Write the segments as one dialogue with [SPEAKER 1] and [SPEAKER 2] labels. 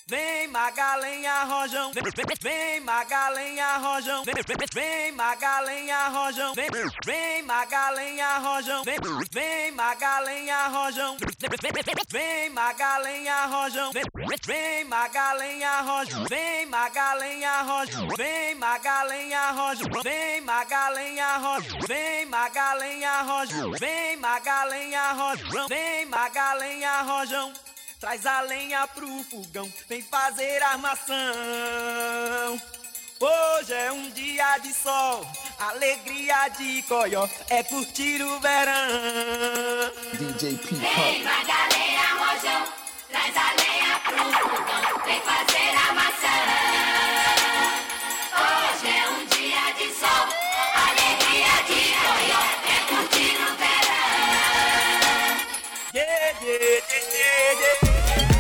[SPEAKER 1] Vem Magalenha Rojão, vem Magalenha Rojão, vem Magalenha Rojão, vem Magalenha Rojão, vem Magalenha Rojão, vem Magalenha Rojão, vem Magalenha Rojão, vem Magalenha Rojão, vem Magalenha Rojão, vem Magalenha Rojão, vem Magalenha Rojão, vem Magalenha Rojão, vem Magalenha Rojão. Traz a lenha pro fogão, vem fazer armação. Hoje é um dia de sol, alegria de coió, é curtir o verão.
[SPEAKER 2] DJ P.
[SPEAKER 3] Vem Magalenha Rojão, traz a lenha pro fogão, vem fazer armação. Hoje é um dia de sol, alegria de coió, é curtir o verão.
[SPEAKER 1] Yeah, yeah, yeah, yeah, yeah.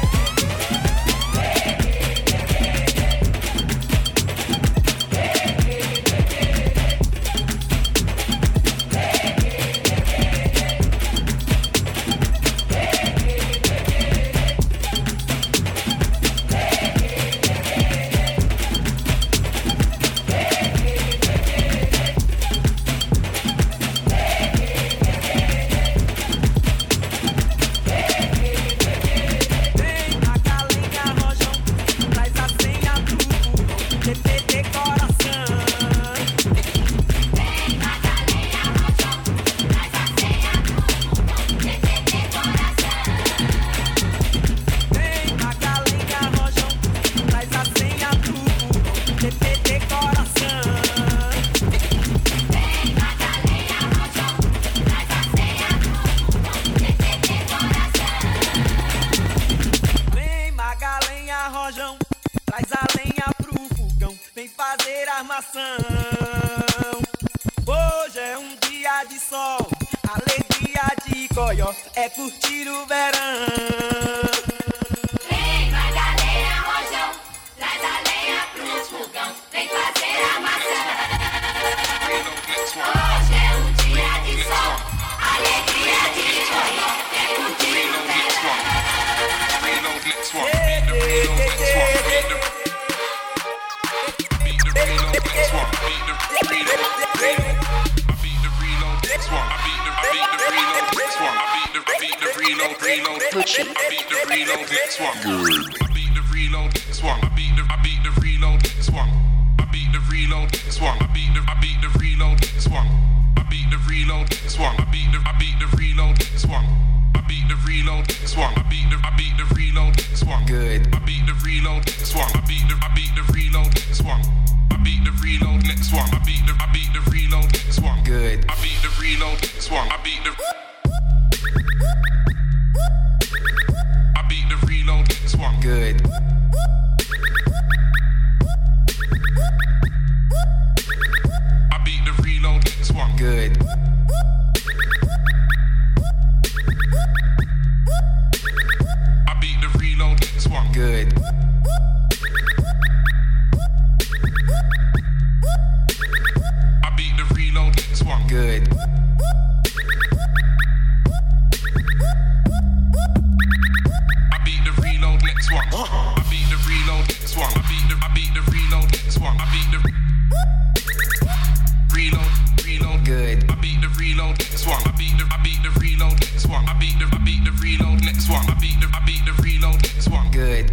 [SPEAKER 1] Traz a lenha pro fogão, vem fazer armação. Hoje é um dia de sol, alegria de coió, é curtir o verão.
[SPEAKER 3] Vem Magalenha Rojão, traz a lenha pro fogão, vem fazer armação. Hoje é um dia de sol, alegria de coió, é curtir o verão.
[SPEAKER 4] Push it. I beat the reload next one.
[SPEAKER 2] Good.
[SPEAKER 4] I beat the reload next one. I beat the reload next one. I beat the reload next one. I beat the reload next one. I beat the reload next one. I beat the reload next one. I beat the reload next one. I beat the reload next one.
[SPEAKER 2] Good.
[SPEAKER 4] I beat the reload next one. I beat the reload next one. I beat the reload next one. I beat the reload next one.
[SPEAKER 2] Good.
[SPEAKER 4] I beat the reload next one. I beat the reload next one.
[SPEAKER 2] Good.
[SPEAKER 4] I beat the reload next one.
[SPEAKER 2] Good.
[SPEAKER 4] I beat the reload next one.
[SPEAKER 2] Good.
[SPEAKER 4] I beat the reload next one.
[SPEAKER 2] Good.
[SPEAKER 4] I beat the reload next one. I beat the reload next one. I beat the reload next one. I beat the reload.
[SPEAKER 2] Good.
[SPEAKER 4] I beat the reload next one. I beat the reload next one. I beat the reload next one. I beat the reload next one.
[SPEAKER 2] Good.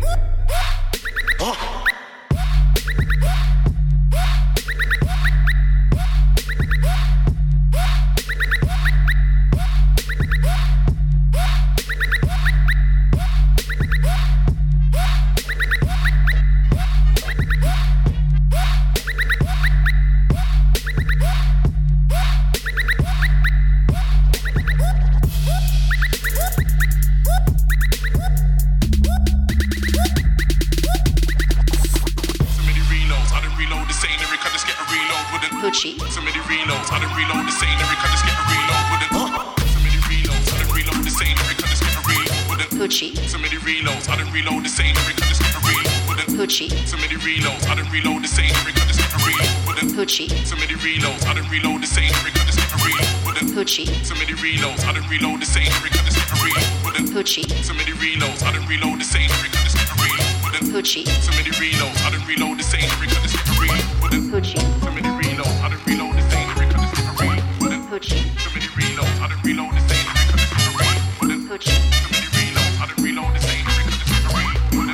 [SPEAKER 4] Pucci. So many reloads, I done reload the same lyric, I just get a reload with it. So many reloads, I done reload the same lyric, I just get a reload with it.
[SPEAKER 5] Pucci.
[SPEAKER 4] So many reloads, I done reload the same lyric, I just get a reload with it.
[SPEAKER 5] Pucci.
[SPEAKER 4] So many reloads, I done reload the same lyric, I just get a reload with it.
[SPEAKER 5] Pucci.
[SPEAKER 4] So many reloads, I done reload the same lyric, I just get a reload with it.
[SPEAKER 5] Pucci.
[SPEAKER 4] So many reloads, I done reload the same lyric, I just get a reload with it.
[SPEAKER 5] Pucci.
[SPEAKER 4] So many reloads, I done reload the same lyric, I just get a reload with it.
[SPEAKER 2] Hoochie.
[SPEAKER 4] So many reloads, I done reload the same lyric on the slippery.
[SPEAKER 2] Hoochie.
[SPEAKER 4] So many reloads, I done reload the same lyric on the slippery.
[SPEAKER 2] Hoochie.
[SPEAKER 4] So many reloads, I done reload the same lyric on the slippery.
[SPEAKER 2] Hoochie.
[SPEAKER 4] So many reloads, I done reload the same lyric on the slippery.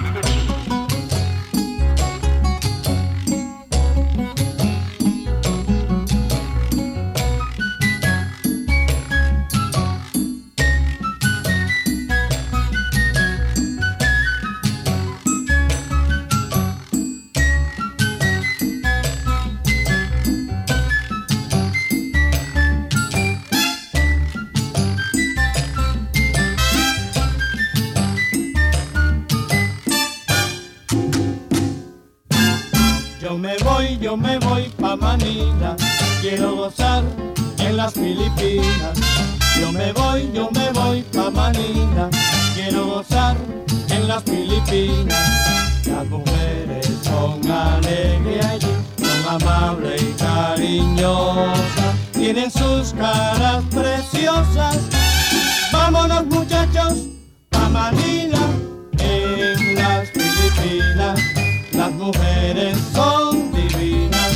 [SPEAKER 5] Yo me voy pa' Manila, quiero gozar en las Filipinas. Yo me voy pa' Manila, quiero gozar en las Filipinas. Las mujeres son alegres allí, son amables y cariñosas, tienen sus caras preciosas. Vámonos muchachos pa' Manila, en las Filipinas. Las mujeres son divinas,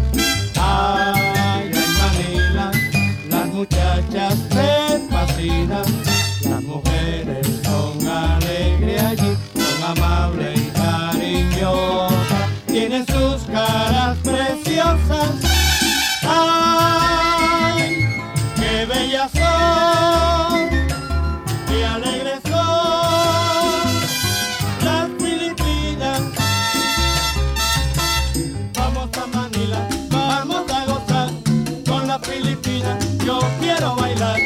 [SPEAKER 5] ay, en Manila, las muchachas me fascinan. Las mujeres son alegres allí, son amables y cariñosas, tienen sus caras preciosas. Ay, qué bellas son, qué alegres son las Filipinas. Vamos a Manila, vamos a gozar con las Filipinas, yo quiero bailar.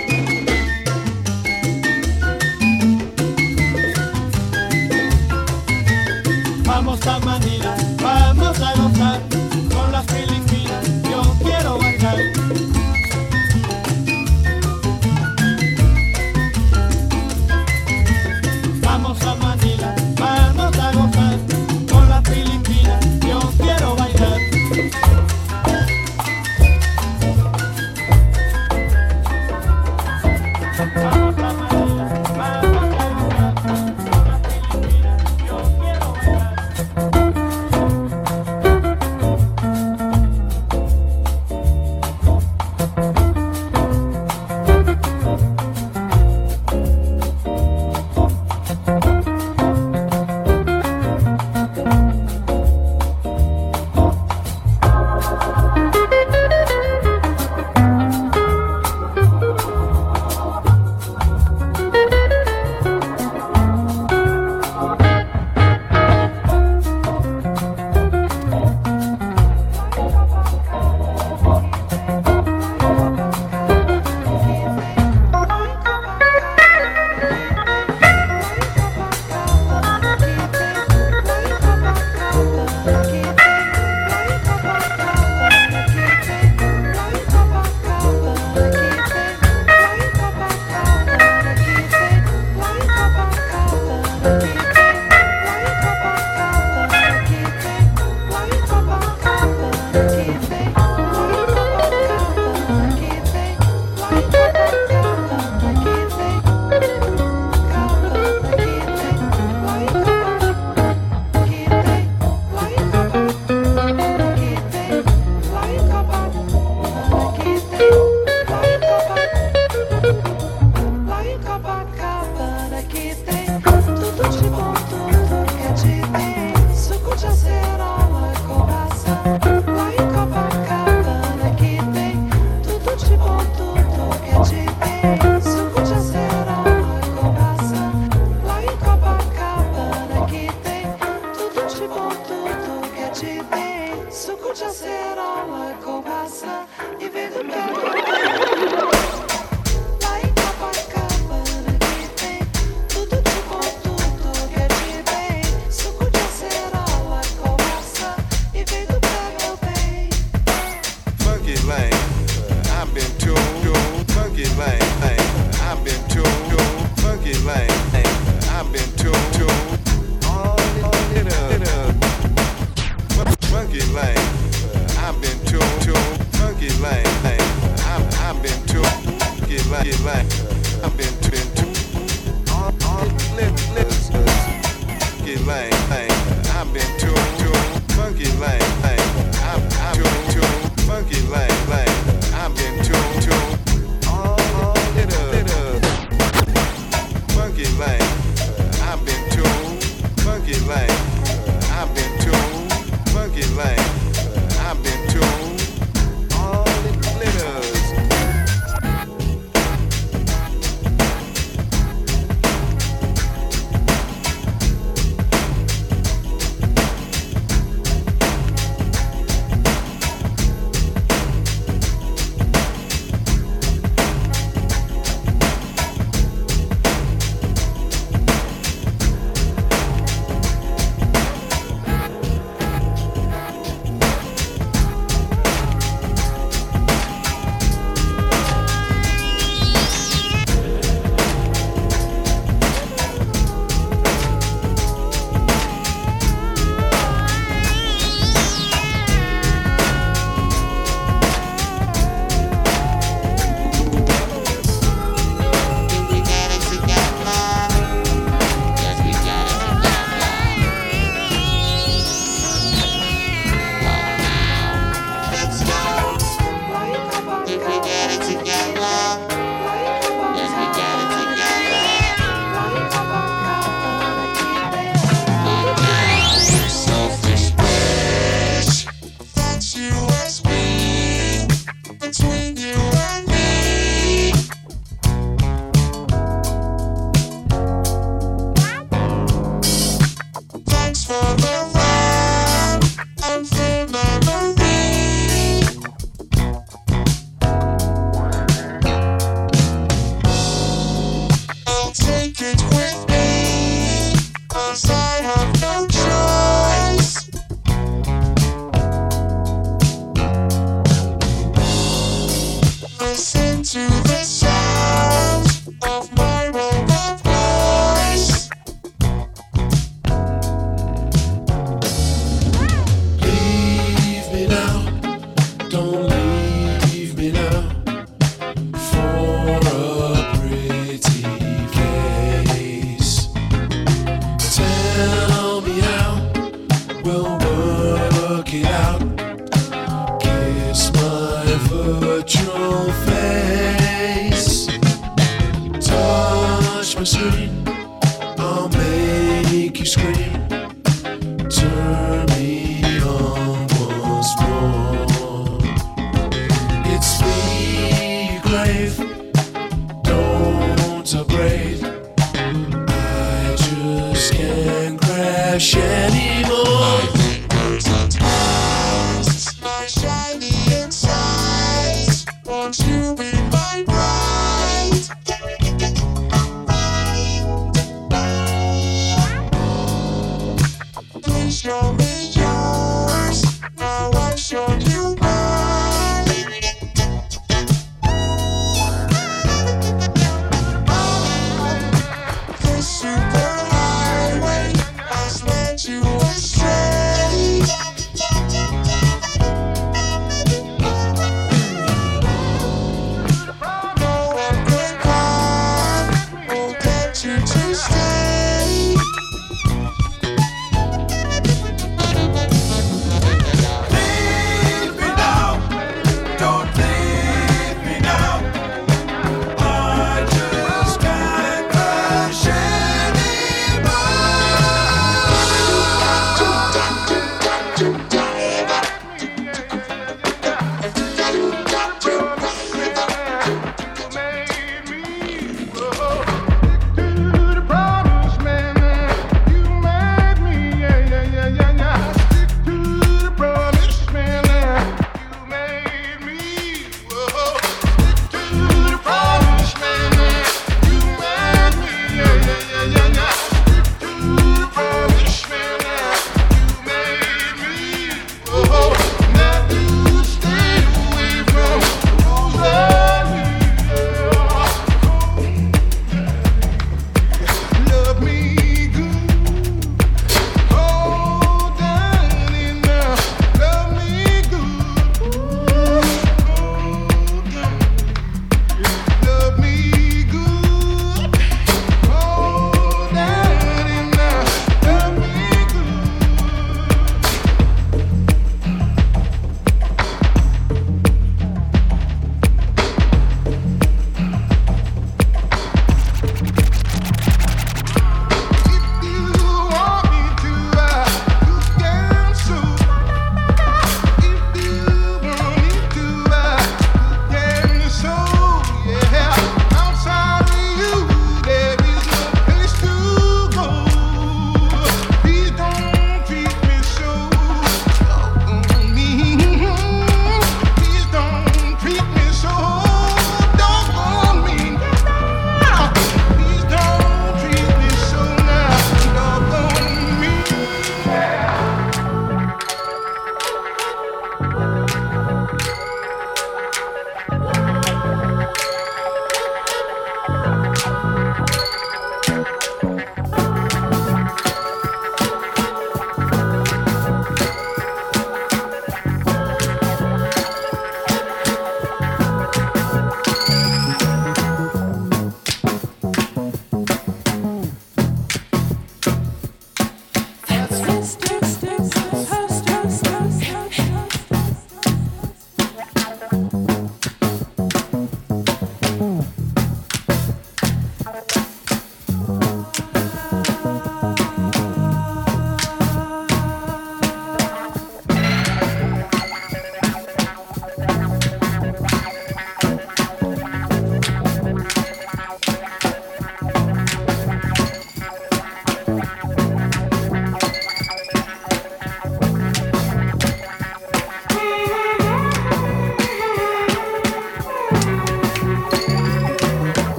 [SPEAKER 5] Vamos a Manila, vamos a gozar con las Filipinas, yo quiero bailar. Vamos a Manila, vamos a gozar con las Filipinas, yo quiero bailar.
[SPEAKER 2] screen. I'll make you scream. Turn me on once more. It's me you crave. Don't upgrade. I just can't crash anymore. My shiny insides. Won't you be my bride? Please show me yours. Now I'll show you mine. This superhighway has led you astray. No one could come, will get you to stay.
[SPEAKER 1] Leave me now, don't leave me now. I just can't crash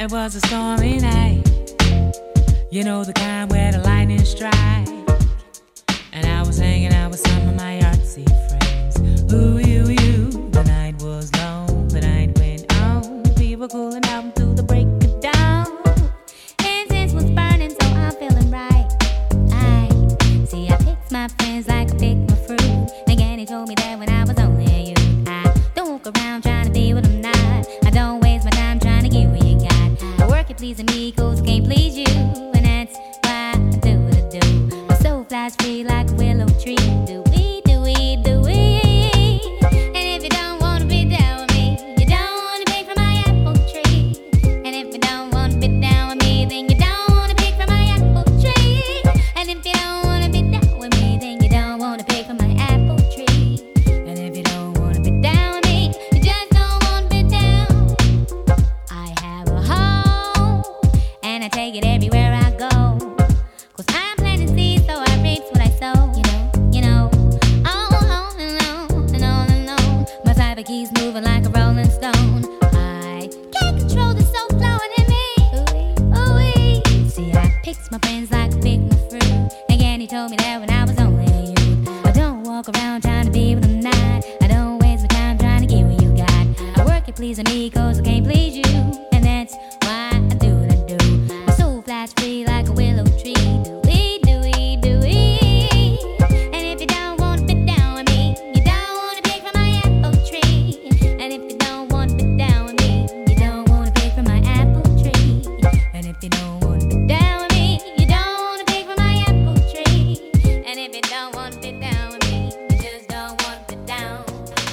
[SPEAKER 6] It was a stormy night, you know the kind where the lightning strike. And I was hanging out with some of my artsy friends. Ooh, you. The night was long, the night went on. We were cooling out through the break of dawn. Incense was burning, so I'm feeling right. See, I picked my friends like I picked my fruit. Again, he told me that when I was only a youth. I don't walk around trying to be what I'm not. I don't waste my time trying to get what you got. I work at pleasing me, cause I can't please you. And that's why I do what I do. My soul flies free like a willow tree. Do we, do we, do we? And if you don't wanna be down with me, you don't wanna pick from my apple tree. And if you don't wanna be down with me, then you don't wanna pick from my apple tree. And if you don't wanna be down with me, then you don't wanna pick from my apple tree. And if you don't wanna be down with me, you just don't wanna be down. I have a home, and I take it everywhere I go. Cause I'm planting seeds, so I reap what I sow. You know, on and on and on and on. My fiber keeps moving like a rolling stone. I can't control the soul flowing in me. Ooh-wee. See, I picked my friends like I picked my fruit. Again, he told me that when I was only a youth. I don't walk around trying to be what I'm not. I don't waste my time trying to get what you got. I work at pleasing me, cause I can't please you. And that's why I do what I do. My soul flies free like a willow tree. Do we, do we, do we? And if you don't wanna be down with me, you don't wanna pick from my apple tree. And if you don't wanna be down with me, you don't wanna pick from my apple tree. And if you don't wanna be down with me, you don't wanna pick from my apple tree. And if you don't wanna be down with me, you just don't wanna be down.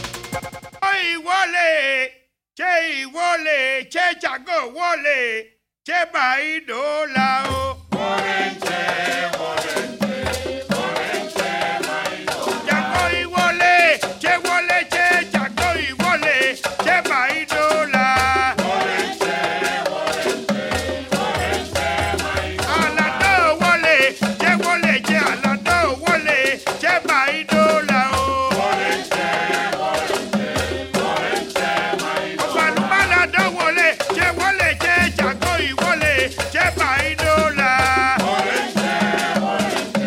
[SPEAKER 7] Che wole, che jago wole, che baido lao. Jago y wole, che jago y wole, che baido la. Alado wole, che alado wole, che baido la. Che jago y wole, che baido la.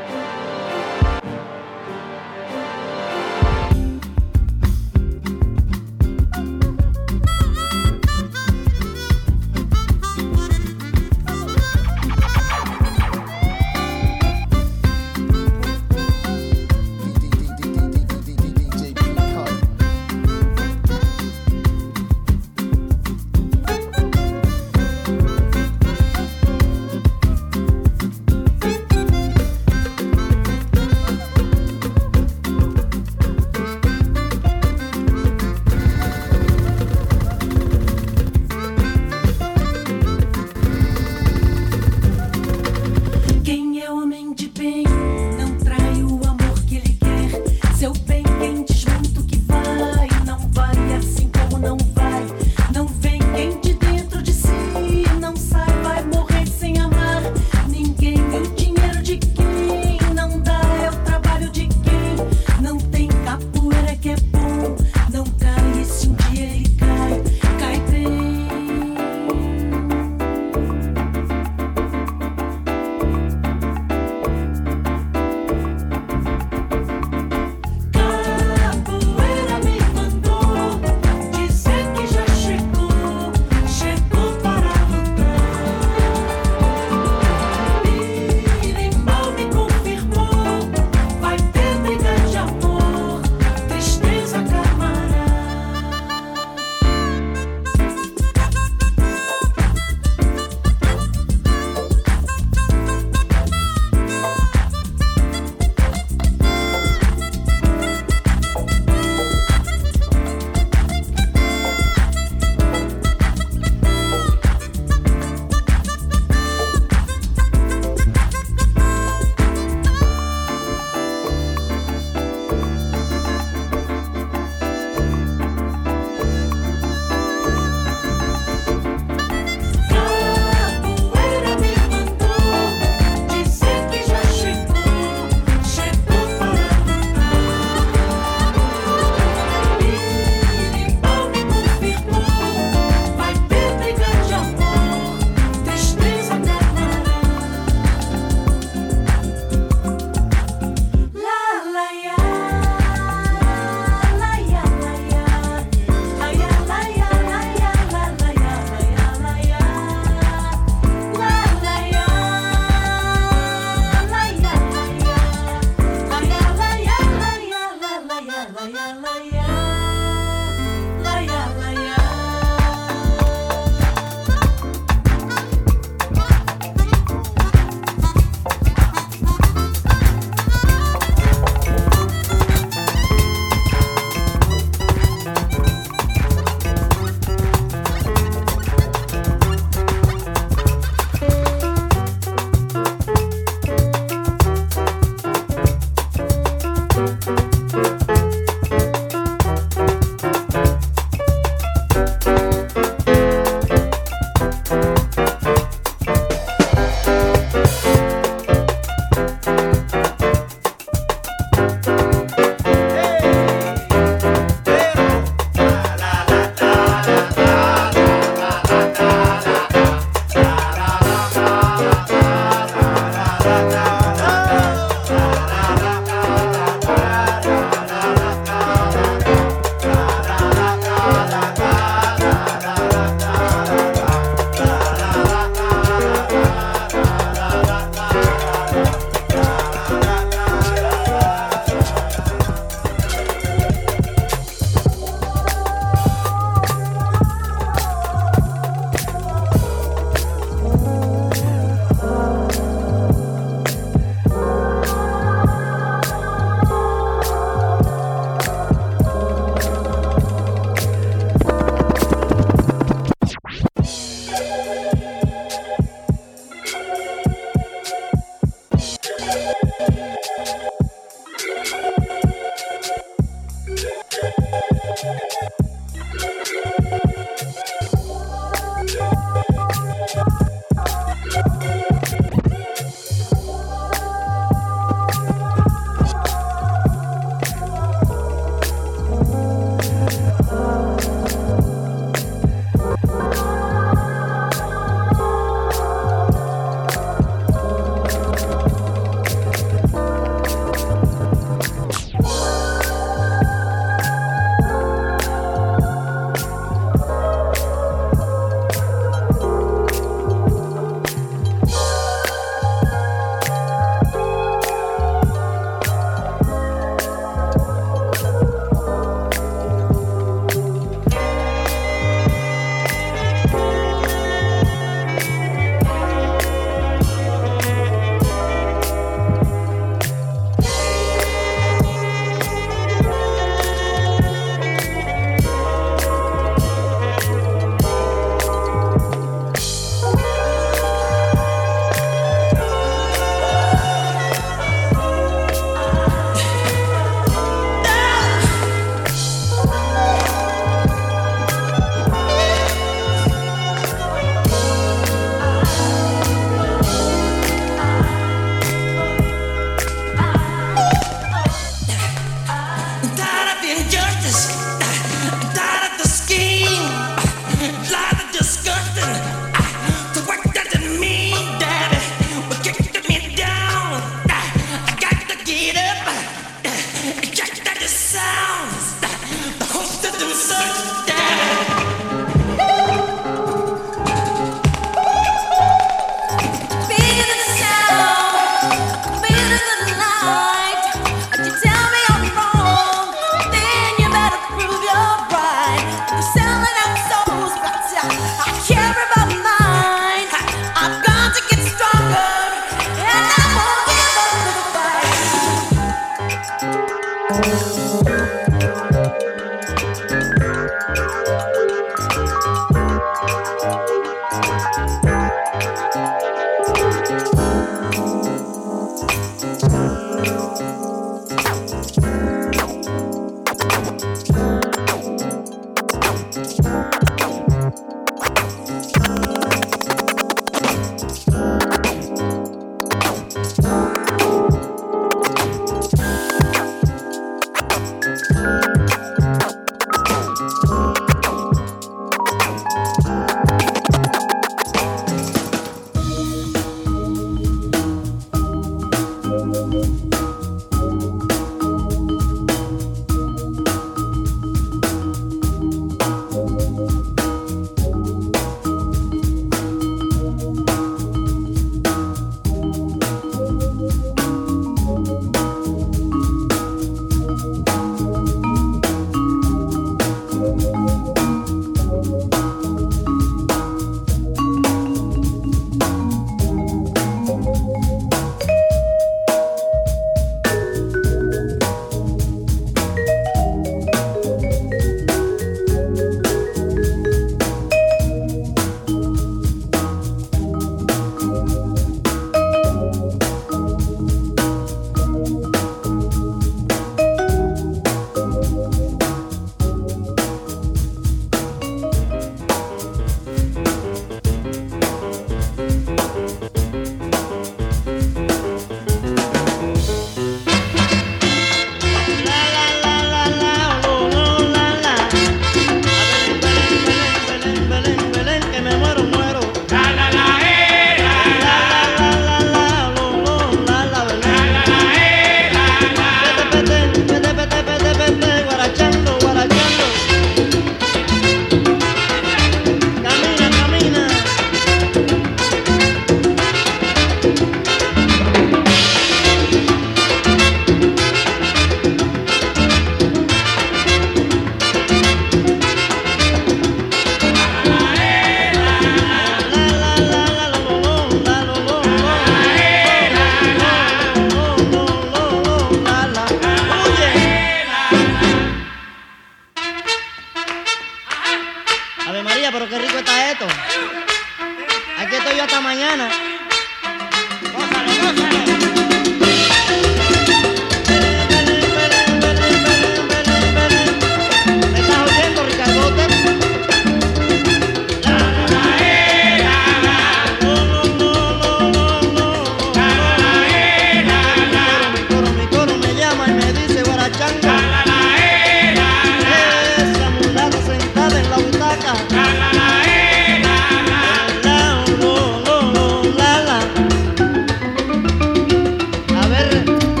[SPEAKER 8] A ver.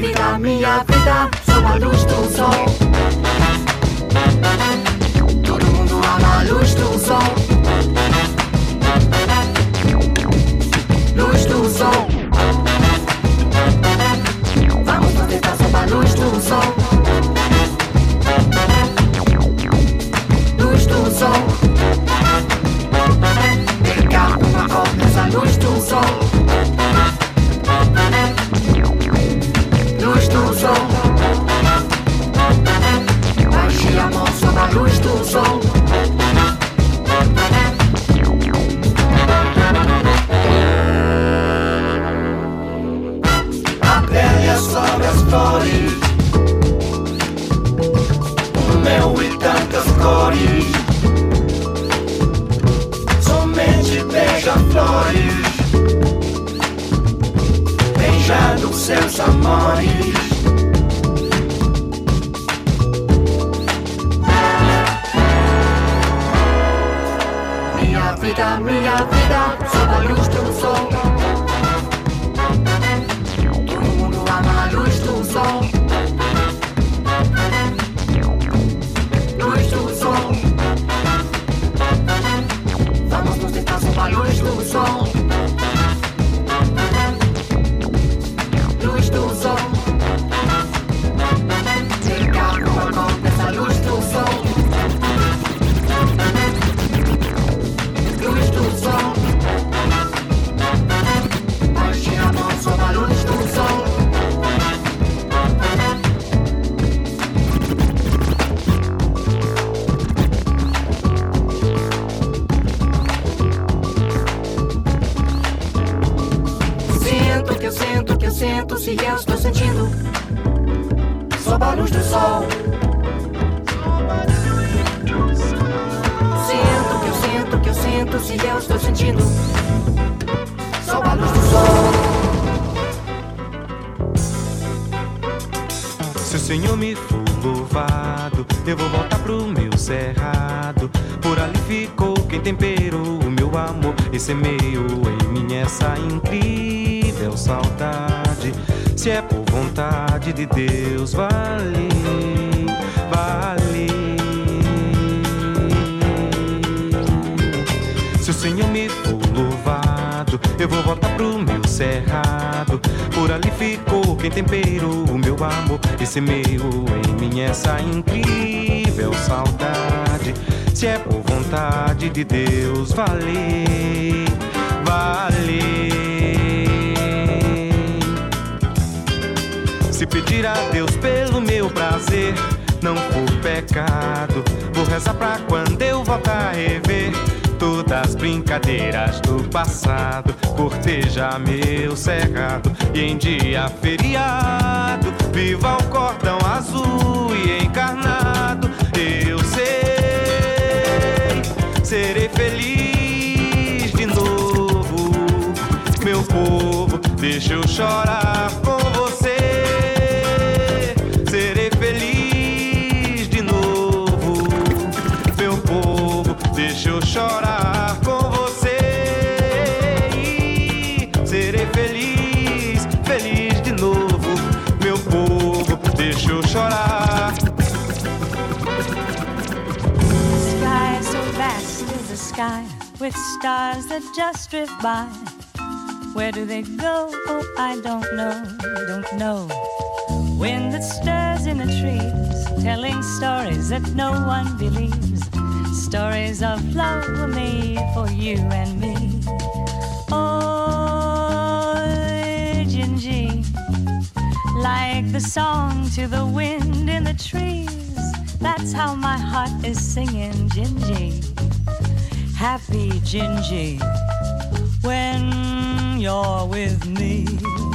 [SPEAKER 8] vida, sob a luz do sol. Todo mundo ama a luz do sol. Luz do sol. Vamos nos deitar sob a luz do sol. Luz do sol. Brincar com uma cor nessa luz do sol. Luz do sol. Baixe a mão sob a luz do sol. A pele é sobre as flores, o mel e tantas cores. Somente beija-flores, beijando seus amores. Minha vida, sob a luz do sol. Todo mundo ama a luz do sol. Luz do sol. Vamos nos deitar sob a luz do sol. Luz do sol. Brincar com a cor dessa luz do sol. Luz do sol. Baixe a mão sob a luz do sol. Sinto se eu estou sentindo sob a luz do sol. Sinto se eu estou sentindo sob a luz do sol.
[SPEAKER 9] Se o Senhor me for louvado, eu vou voltar pro meu cerrado. Por ali ficou quem temperou o meu amor e semeou em mim essa incrível saudade. Se é por vontade de Deus, vale, vale. Se o Senhor me for louvado, eu vou voltar pro meu cerrado. Por ali ficou quem temperou o meu amor e semeou em mim essa incrível saudade. Se é por vontade de Deus, vale, vale. Se pedir a Deus pelo meu prazer não for pecado, vou rezar pra quando eu voltar a rever todas as brincadeiras do passado, cortejar meu cerrado e em dia feriado viva o cordão azul e encarnado. Eu sei, serei feliz de novo, meu povo, deixa eu chorar com você. Serei feliz de novo, meu povo, deixa eu chorar com você. Serei feliz, feliz de novo, meu povo, deixa eu chorar.
[SPEAKER 10] The sky so vast is a sky with stars that just drift by. Where do they go? Oh, I don't know. Wind that stirs in the trees, telling stories that no one believes. Stories of love were made for you and me. Oh, Gingy, like the song to the wind in the trees. That's how my heart is singing, Gingy. Happy Gingy, when you're with me.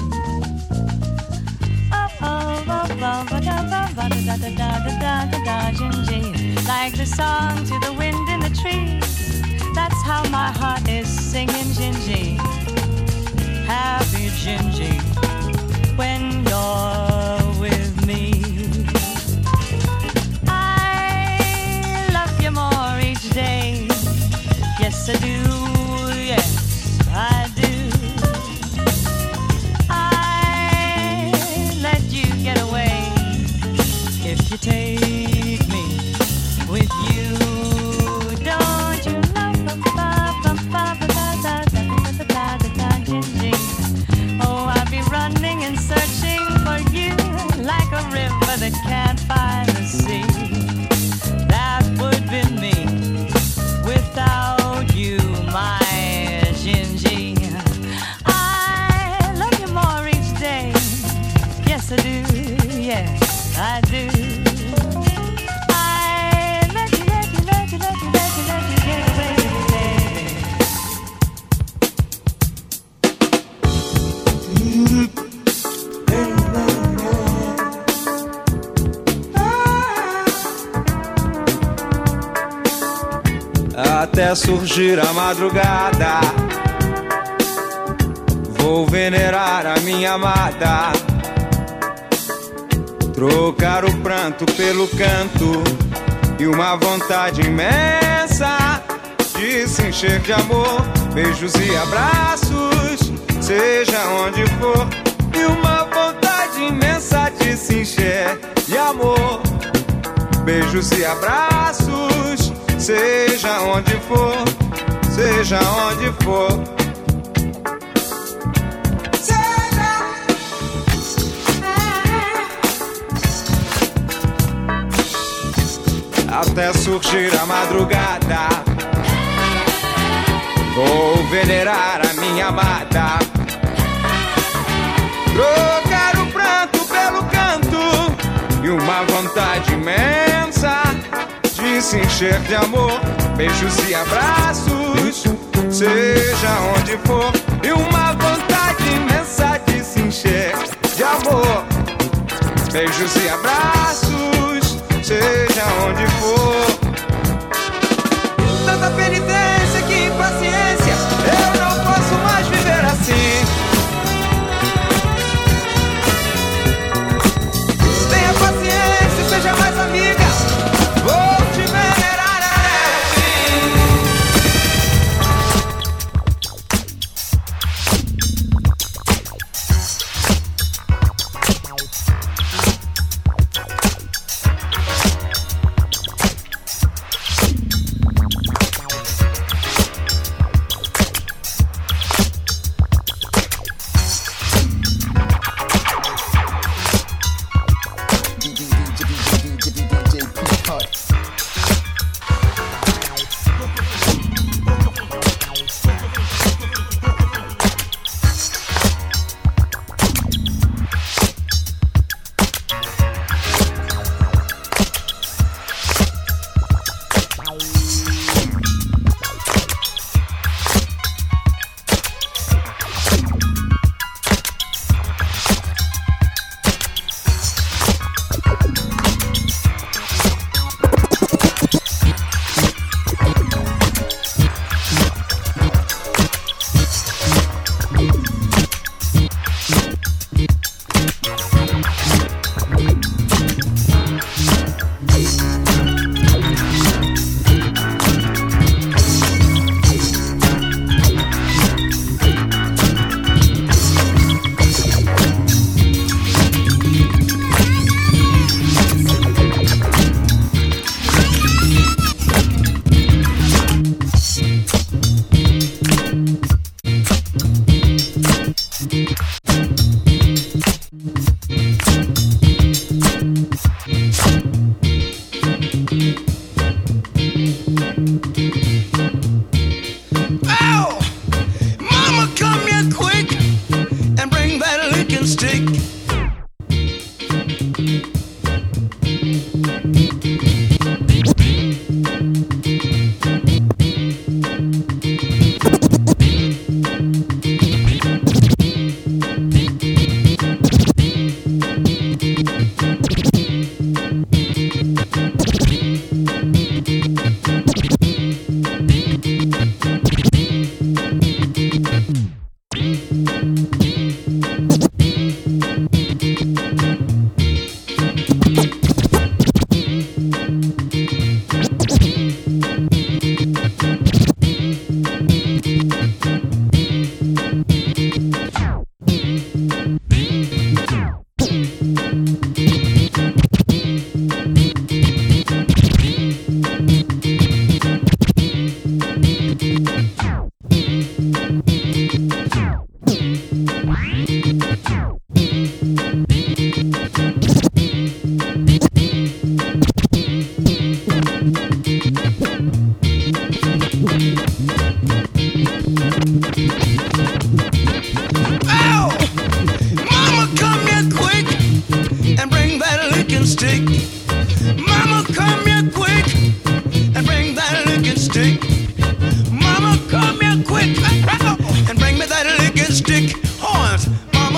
[SPEAKER 10] Gingy, like the song to the wind in the trees. That's how my heart is singing, Gingy. Happy Gingy, when you're with me. I love you more each day. Yes, I do. Yes, I do. I let you yes I do, yes I do. I let you get away with it, baby.
[SPEAKER 9] Até surgir a madrugada, vou venerar a minha amada, trocar o pranto pelo canto e uma vontade imensa de se encher de amor, beijos e abraços, seja onde for, e uma vontade imensa de se encher de amor, beijos e abraços, seja onde for, seja onde for. Até surgir a madrugada, vou venerar a minha amada, trocar o pranto pelo canto e uma vontade imensa de se encher de amor, beijos e abraços, seja onde for, e uma vontade imensa de se encher de amor, beijos e abraços, seja onde for. Tanta penitência, que impaciência, eu não posso mais viver assim. Tenha paciência, seja mais amiga, vou te venerar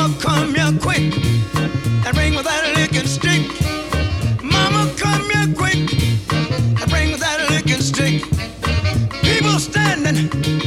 [SPEAKER 11] Mama, come here quick and bring me that licking stick. Mama, come here quick and bring me that licking stick. People standing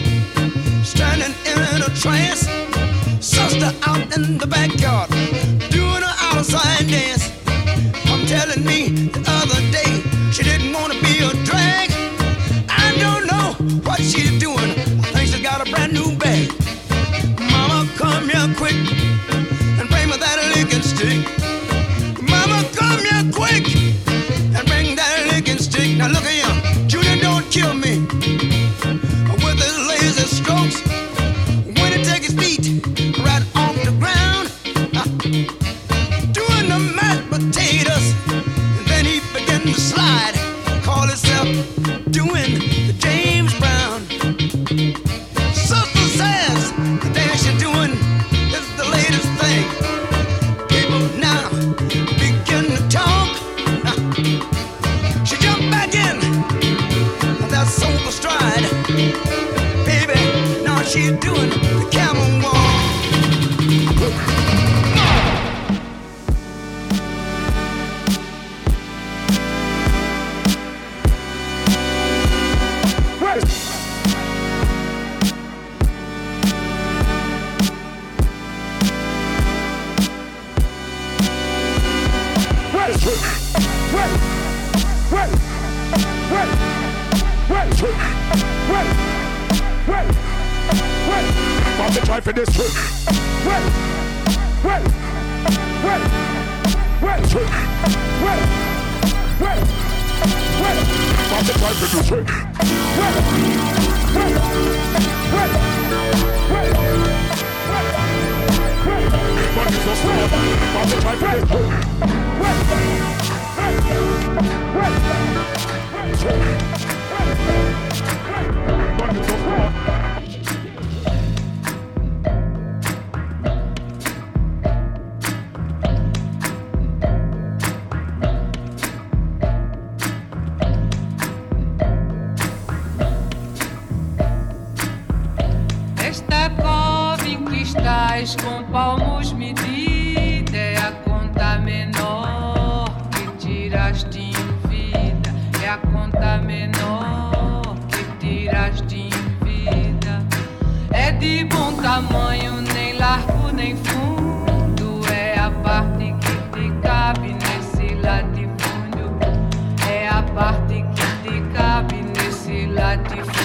[SPEAKER 11] in a trance. Sister out in the backyard doing an outside dance. I'm telling me the other day she didn't want to be a drag. I don't know what she's doing. I think she's got a brand new bag. Mama, come here quick and bring me that licking stick. Mama, come here quick and bring that licking stick. Now look at him, Junior don't kill me with his lazy strokes. When he take his feet right off the ground, doing the mashed potatoes, and then he begin to slide, call himself doing the James Brown. Sister says the dance you're doing is the latest thing. People now begin to talk. She jumped back in that sober stride. Baby, now she's doing the camel walk.
[SPEAKER 7] Bobby try for this trick. Bobby try for this trick. Bobby so smart. Bobby try for this trick. Bobby so smart.
[SPEAKER 12] Com palmos medida é a conta menor que tiraste em vida. É a conta menor que tiraste em vida. É de bom tamanho, nem largo nem fundo. É a parte que te cabe nesse latifúndio. É a parte que te cabe nesse latifúndio.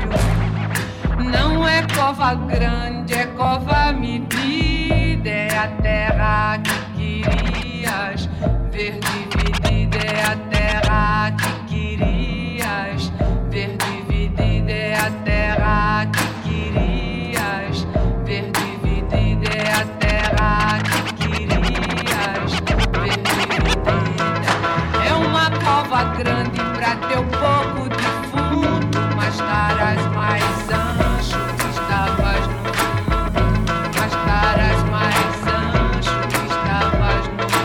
[SPEAKER 12] Não é cova grande, é cova medida. É a terra que querias ver dividida. É a terra que querias ver dividida. É a terra que querias ver dividida. É a terra que querias ver dividida. É uma cova grande pra teu pouco de fundo, mas estarás mais ancho que estavas no mundo, mas estarás mais ancho que estavas no mundo.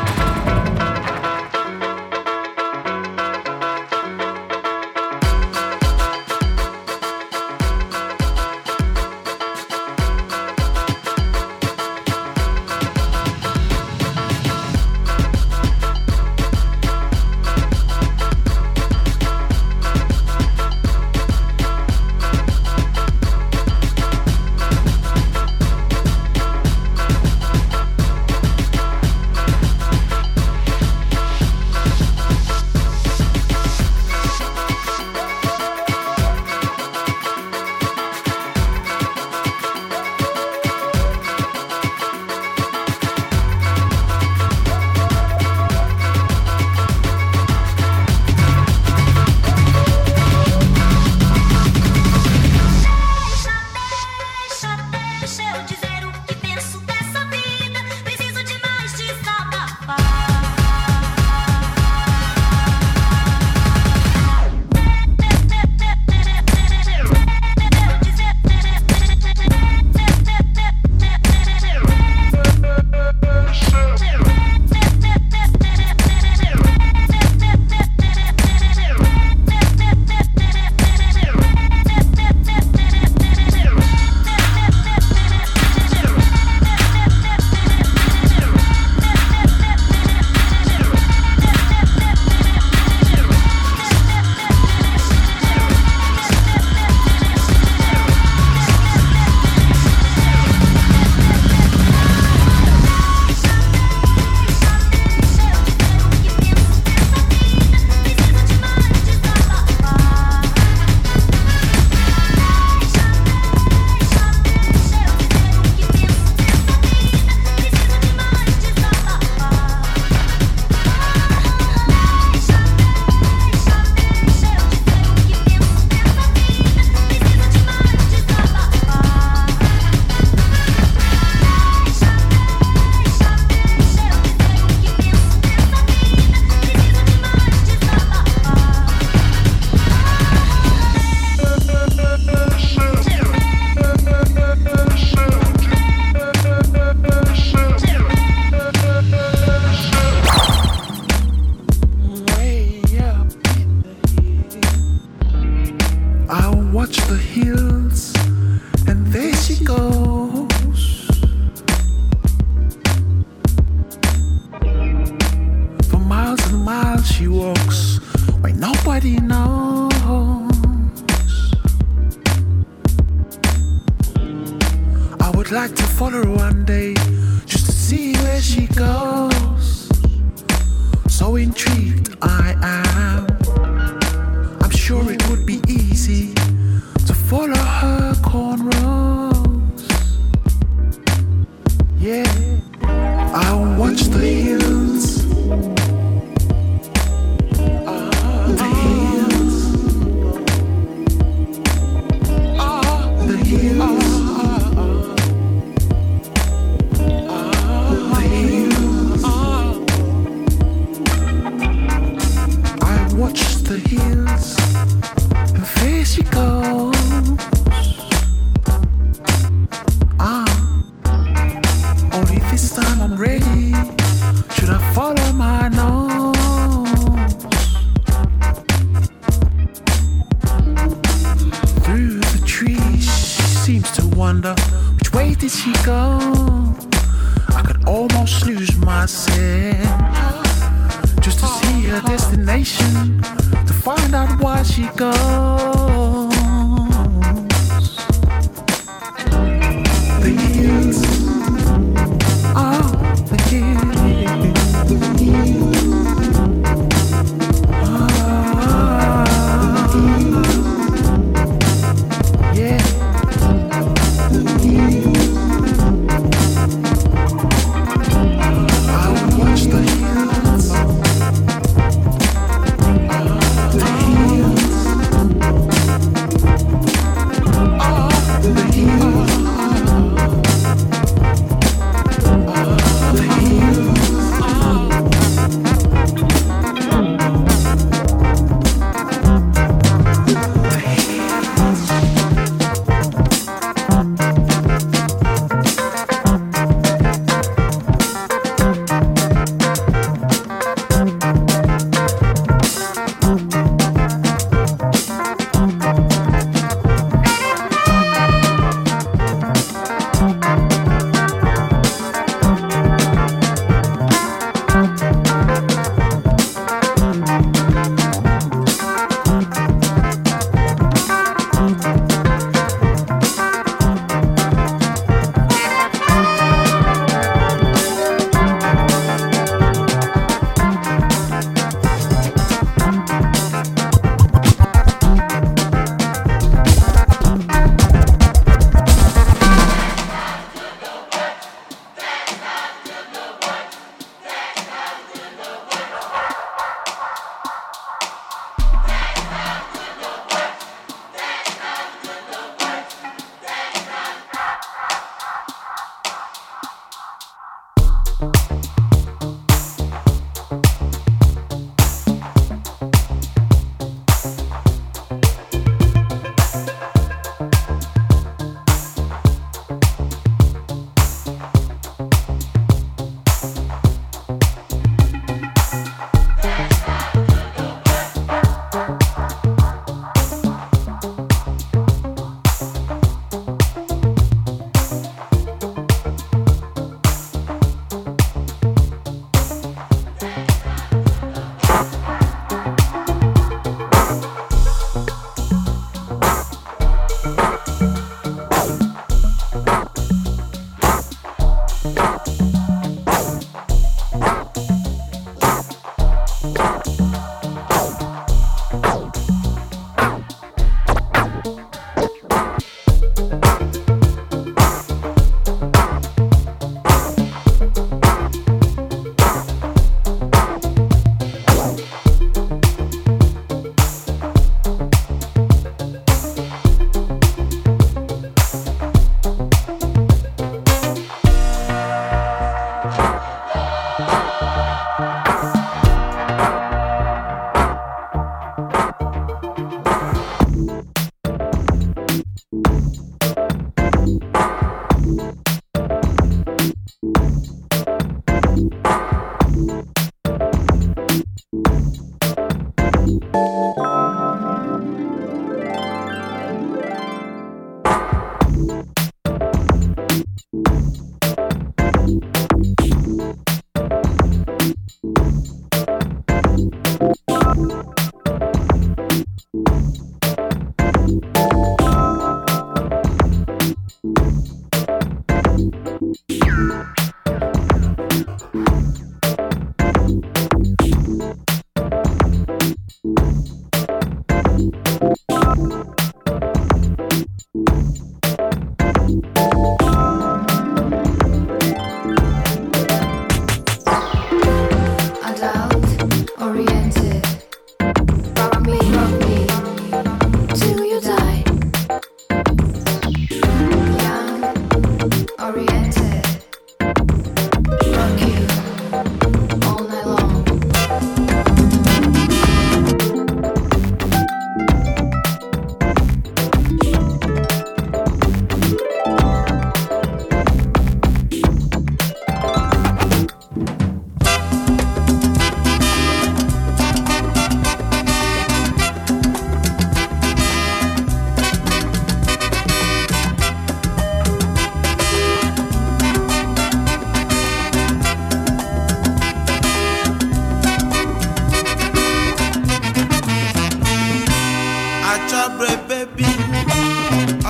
[SPEAKER 13] she walks when nobody knows. I would like to follow her one day just to see where she goes. So intrigued I am. I'm sure it would be easy to follow her cornrows. Yeah, I'll watch the hills. The hills. The hills. The hills, and there she goes. Only this time I'm ready. Should I follow my nose? Through the trees, she seems to wonder which way did she go. I could almost lose myself just to see her destination, to find out why she goes. The hills, the hills, yeah. I will watch the hills.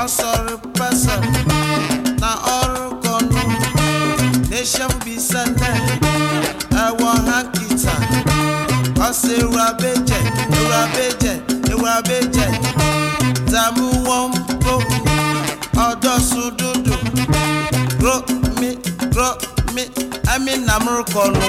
[SPEAKER 11] Ọsọrọ pẹsẹ na ọrụ kọnụ nation bisane ẹwọ hankita ọsẹ ewurabeje ewurabeje ewurabeje dààmú wọn bò ọdọsùn dúdú grow me ẹmí nàmúrú kọnụ.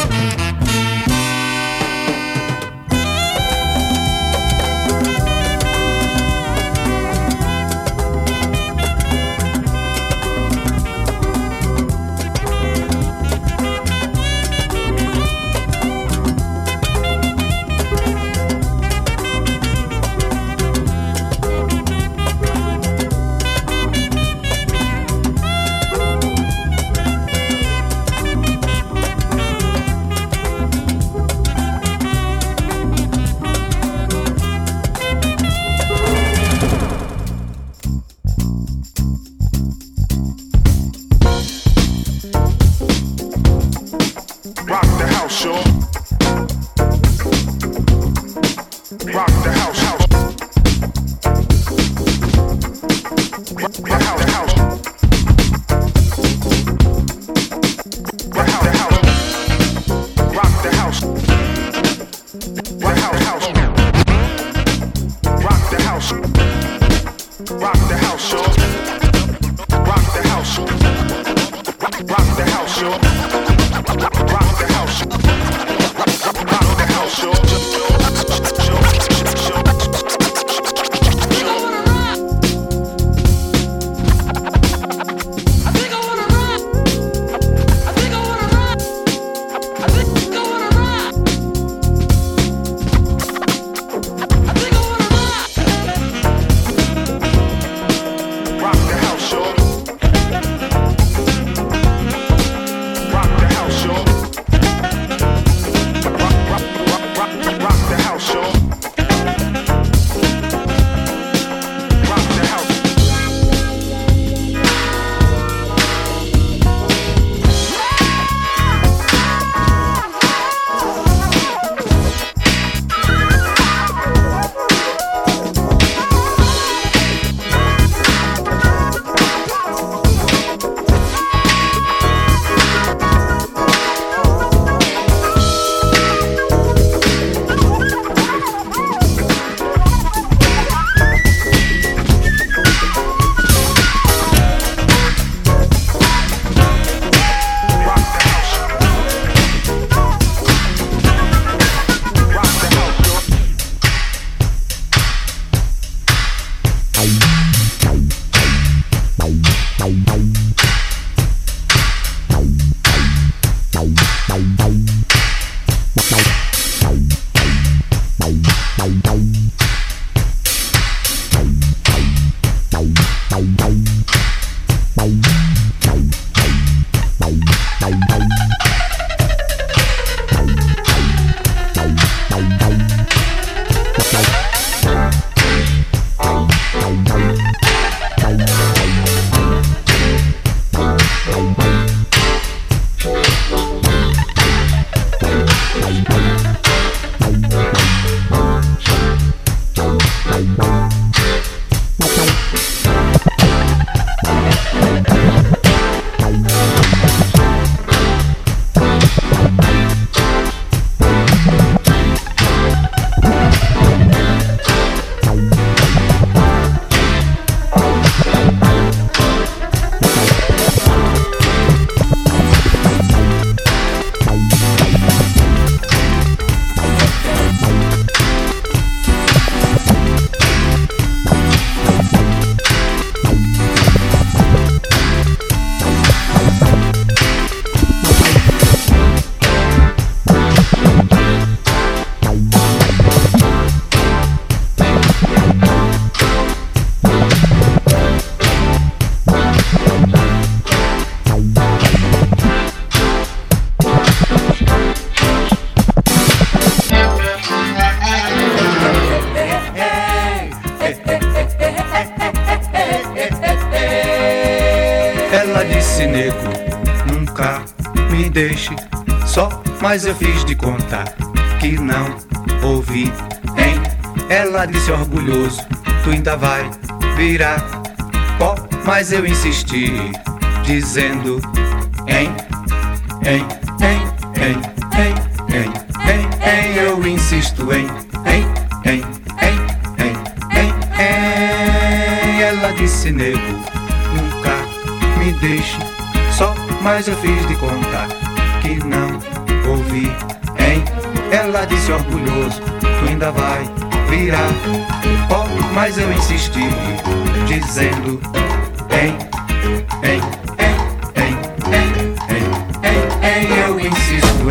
[SPEAKER 9] deixe só, mas eu fiz de contar que não ouvi, hein? Ela disse orgulhoso, tu ainda vai virar
[SPEAKER 14] Oh, mas eu insisti, dizendo eu insisto ela disse, nego, nunca me deixe só, mas eu fiz de conta que não ouvi, ela disse, orgulhoso, tu ainda vai virar. Oh, mas eu insisti, dizendo eu insisto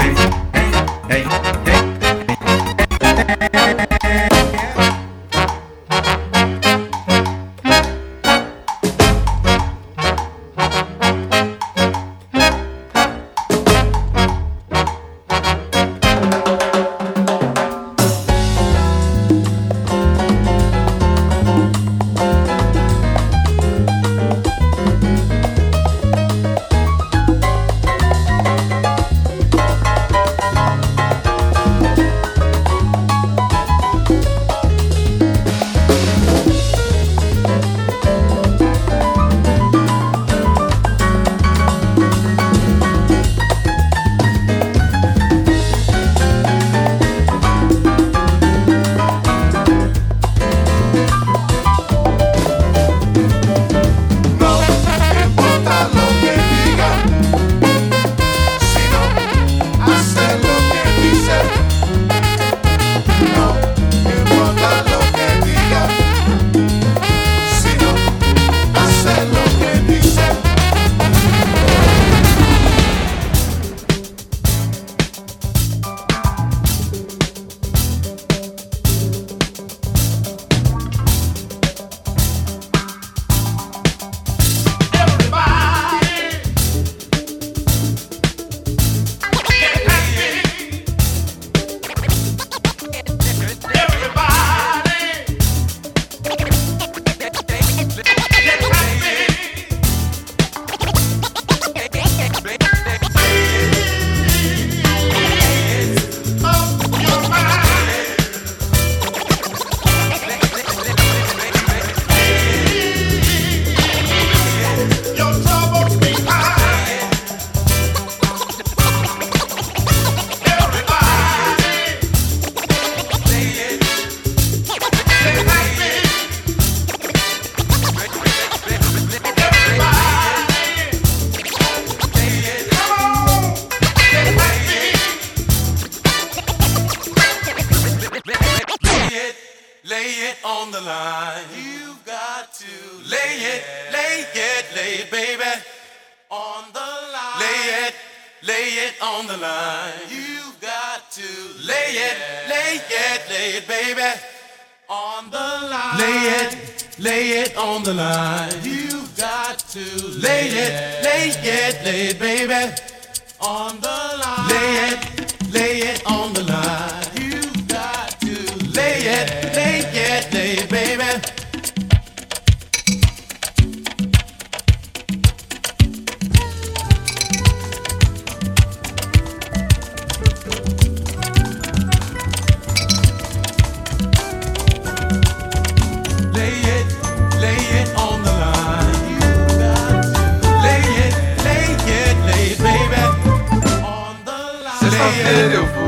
[SPEAKER 15] eu vou,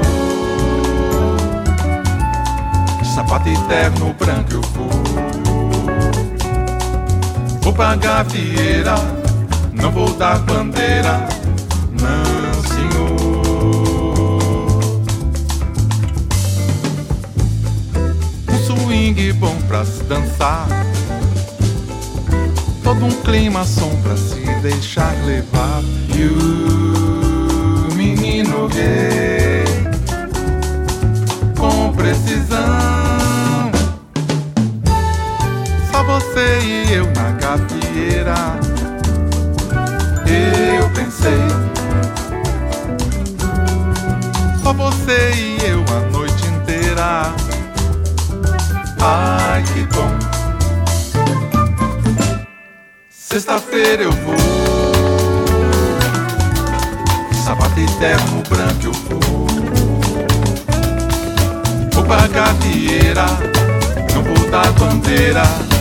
[SPEAKER 15] sapato eterno branco eu vou pra gafieira, não vou dar bandeira, não senhor. Um swing bom pra se dançar, todo um clima som pra se deixar levar. E o menino gay, com precisão, só você e eu na gafieira. Eu pensei, só você e eu a noite inteira. Ai que bom. Sexta-feira eu vou, sapato eterno branco eu vou pra gafieira, não vou dar bandeira.